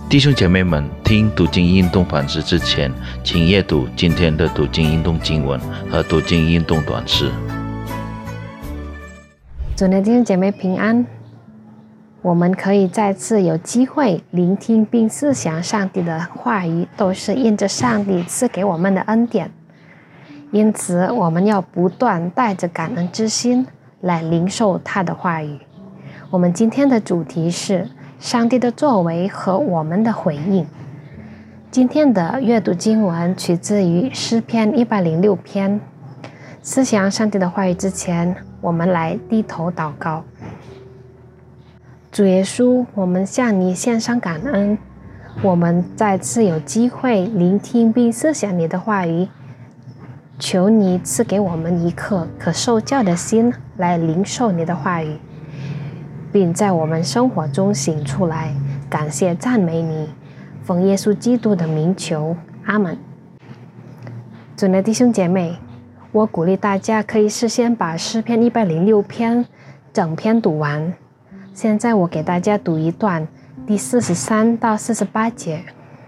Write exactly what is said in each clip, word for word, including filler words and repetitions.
弟兄姐妹们，听读经运动反思之前，请阅读今天的读经运动经文和读经运动短诗。 主内弟兄姐妹平安，我们可以再次有机会聆听并思想上帝的话语，都是因着上帝赐给我们的恩典。因此，我们要不断带着感恩之心来领受他的话语。我们今天的主题是上帝的作为和我们的回应。今天的阅读经文取自于诗篇一百零六篇。思想上帝的话语之前，我们来低头祷告。主耶稣，我们向你献上感恩，我们再次有机会聆听并思想你的话语，求你赐给我们一颗可受教的心来领受你的话语，并在我们生活中行出来。感谢赞美你，奉耶稣基督的名求，阿们。主内弟兄姐妹，我鼓励大家可以事先把诗篇一百零六篇整篇读完。现在我给大家读一段第四十三到四十八节。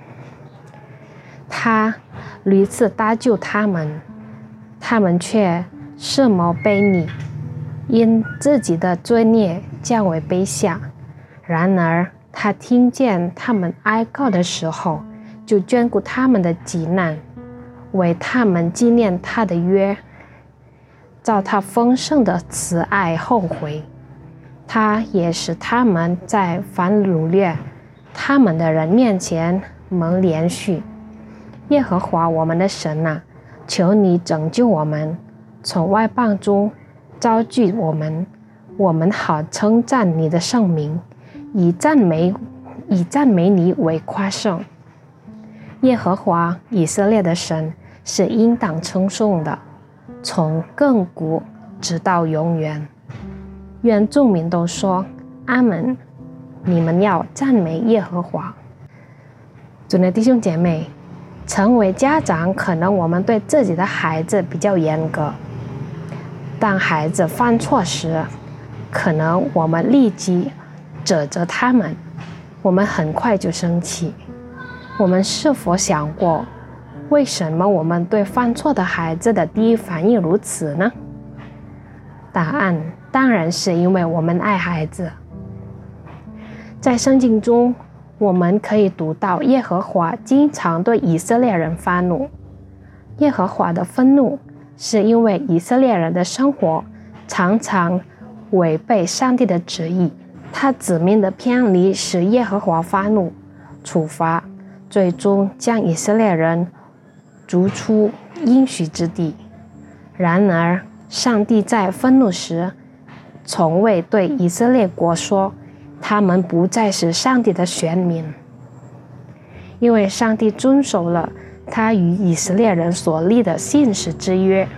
他屡次搭救他们，他们却视谋悖逆，因自己的罪孽降为卑下。然而他听见他们哀告的时候，就眷顾他们的急难，为他们纪念他的约，照他丰盛的慈爱后悔。他也使他们在凡掳掠他们的人面前蒙连续。耶和华我们的神啊，求你拯救我们，从外邦中招聚我们，我们好称赞你的圣名，以赞美以赞美你为夸胜。耶和华以色列的神是应当称颂的，从亘古直到永远。愿众民都说阿们。你们要赞美耶和华。主内弟兄姐妹，成为家长，可能我们对自己的孩子比较严格，当孩子犯错时，可能我们立即指责他们，我们很快就生气。我们是否想过，为什么我们对犯错的孩子的第一反应如此呢？答案当然是因为我们爱孩子。在圣经中，我们可以读到耶和华经常对以色列人发怒。耶和华的愤怒是因为以色列人的生活常常违背上帝的旨意，他子民的偏离使耶和华发怒，处罚，最终将以色列人逐出应许之地。然而上帝在愤怒时从未对以色列国说他们不再是上帝的选民，因为上帝遵守了他与以色列人所立的信实之约。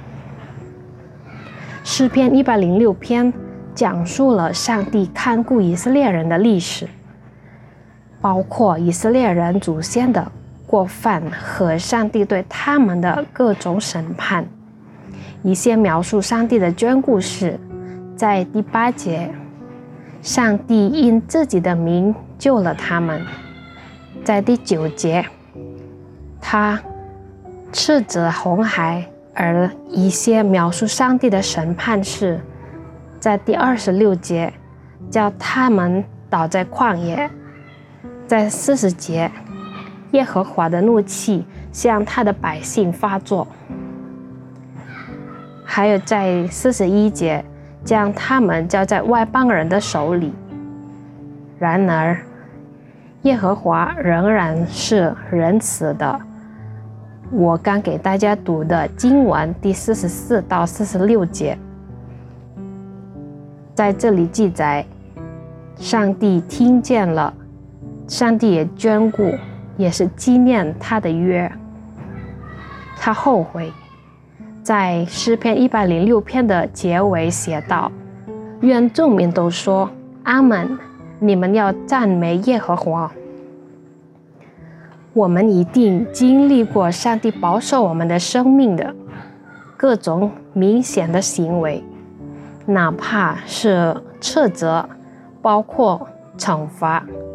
诗篇一百零六篇讲述了上帝看顾以色列人的历史，包括以色列人祖先的过犯和上帝对他们的各种审判。一些描述上帝的眷顾是，在第八节，上帝因自己的名救了他们；在第九节，他斥责红海；而一些描述上帝的审判是，在第二十六节，叫他们倒在旷野；在四十节，耶和华的怒气向他的百姓发作；还有在四十一节，将他们交在外邦人的手里。然而耶和华仍然是仁慈的。我刚给大家读的经文第四十四到四十六节，在这里记载，上帝听见了，上帝也眷顾，也是纪念他的约。他后悔。在诗篇一百零六篇的结尾写道：愿众民都说阿们，你们要赞美耶和华。我们一定经历过上帝保守我们的生命的各种明显的行为，哪怕是斥责，包括惩罚，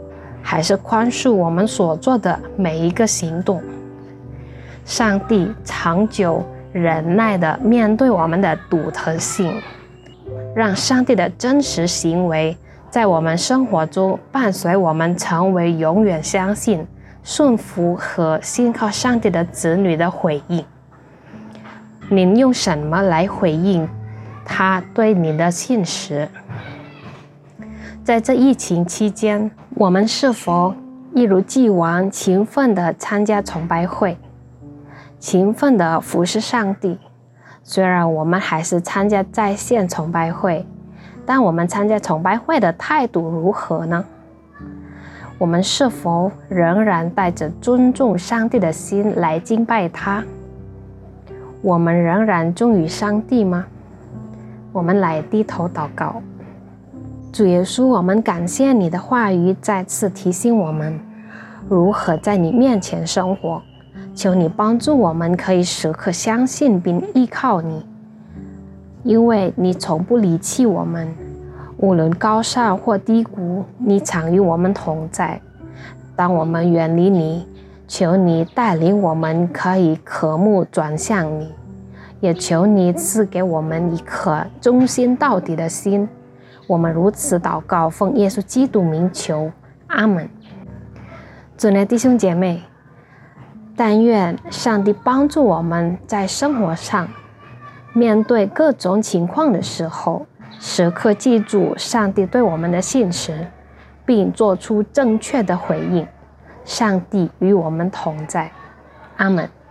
还是宽恕我们所做的每一个行动。上帝长久忍耐地面对我们的独特性，让上帝的真实行为在我们生活中伴随我们，成为永远相信、顺服和信靠上帝的子女的回应。您用什么来回应他对你的信实？在这疫情期间，我们是否一如既往勤奋地参加崇拜会，勤奋地服侍上帝？虽然我们还是参加在线崇拜会，但我们参加崇拜会的态度如何呢？我们是否仍然带着尊重上帝的心来敬拜他？我们仍然忠于上帝吗？我们来低头祷告。主耶稣，我们感谢你的话语再次提醒我们如何在你面前生活。求你帮助我们可以时刻相信并依靠你，因为你从不离弃我们，无论高尚或低谷，你常与我们同在。当我们远离你，求你带领我们可以渴慕转向你，也求你赐给我们一颗忠心到底的心。我们如此祷告，奉耶稣基督名求，阿们。主内弟兄姐妹，但愿上帝帮助我们在生活上面对各种情况的时候，时刻记住上帝对我们的信实，并做出正确的回应。上帝与我们同在，阿们。